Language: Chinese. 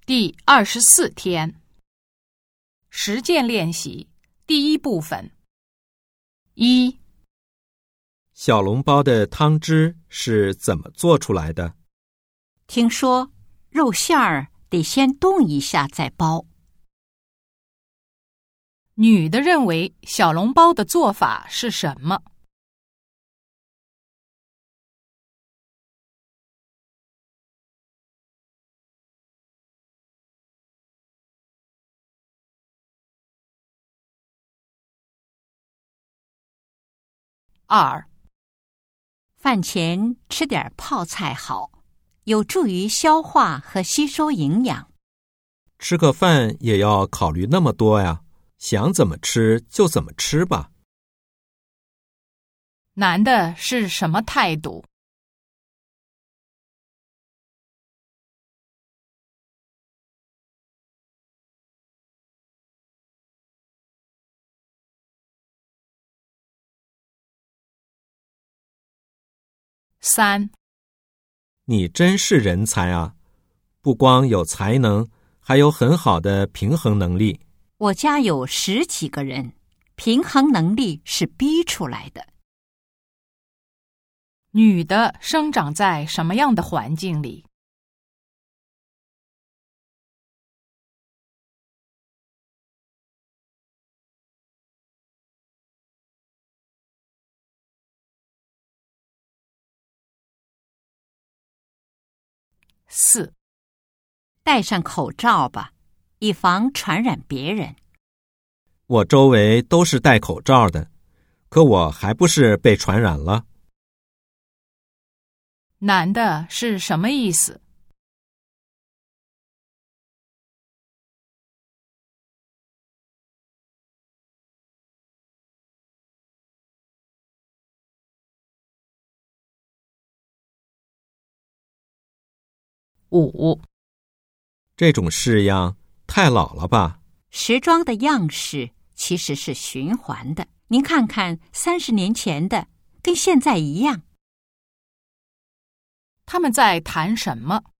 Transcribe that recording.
第24天，实践练习第1部分。1. 小笼包的汤汁是怎么做出来的？ 听说肉馅儿得先冻一下再包。 女的认为小笼包的做法是什么？2. 饭前吃点泡菜好，有助于消化和吸收营养。 吃个饭也要考虑那么多呀，想怎么吃就怎么吃吧。 男的是什么态度？3. 你真是人才啊，不光有才能，还有很好的平衡能力。 我家有10几个人，平衡能力是逼出来的。 女的生长在什么样的环境里？4. 戴上口罩吧，以防传染别人。 我周围都是戴口罩的，可我还不是被传染了。 男的是什么意思？5. 这种式样太老了吧？ 时装的样式其实是循环的，您看看30年前的跟现在一样。 他们在谈什么